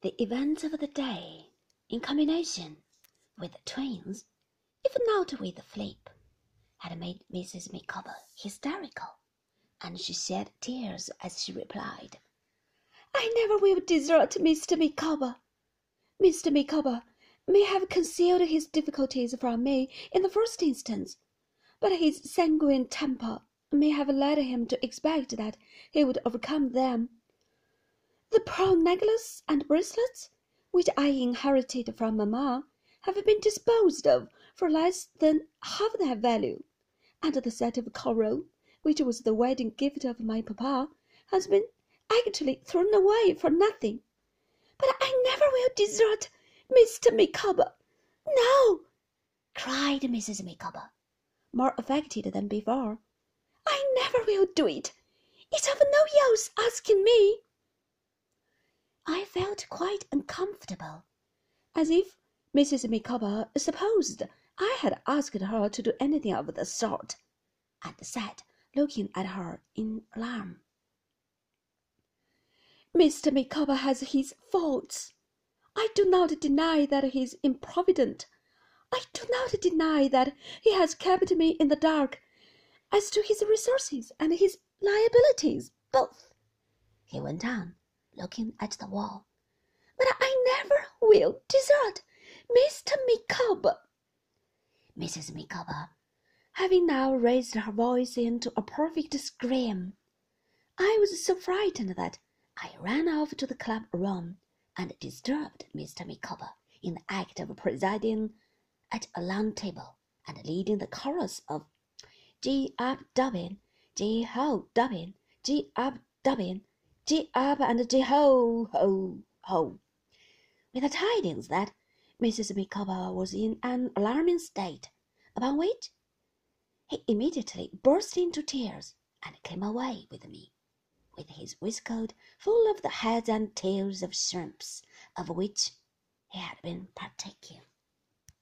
The events of the day, in combination with the twins, if not with the flip, had made Mrs. Micawber hysterical, and she shed tears as she replied, "I never will desert Mr. Micawber. Mr. Micawber may have concealed his difficulties from me in the first instance, but his sanguine temper may have led him to expect that he would overcome them. The pearl necklace and bracelets, which I inherited from mamma, have been disposed of for less than half their value, and the set of coral, which was the wedding gift of my papa, has been actually thrown away for nothing. But I never will desert Mr. Micawber. No," cried Mrs. Micawber, more affected than before. "I never will do it. It's of no use asking me." I felt quite uncomfortable, as if Mrs. Micawber supposed I had asked her to do anything of the sort, and sat looking at her in alarm. "Mr. Micawber has his faults. I do not deny that he is improvident. I do not deny that he has kept me in the dark as to his resources and his liabilities both," he went on, looking at the wall. "But I never will desert Mr. Micawber." Mrs. Micawber, having now raised her voice into a perfect scream, I was so frightened that I ran off to the club room and disturbed Mr. Micawber in the act of presiding at a long table and leading the chorus of "Gee up, Dobbin, gee ho, Dobbin, gee up, Dobbin, gee up and gee ho, ho, ho," with the tidings that Mrs. Micawber was in an alarming state, upon which he immediately burst into tears and came away with me, with his waistcoat full of the heads and tails of shrimps of which he had been partaking.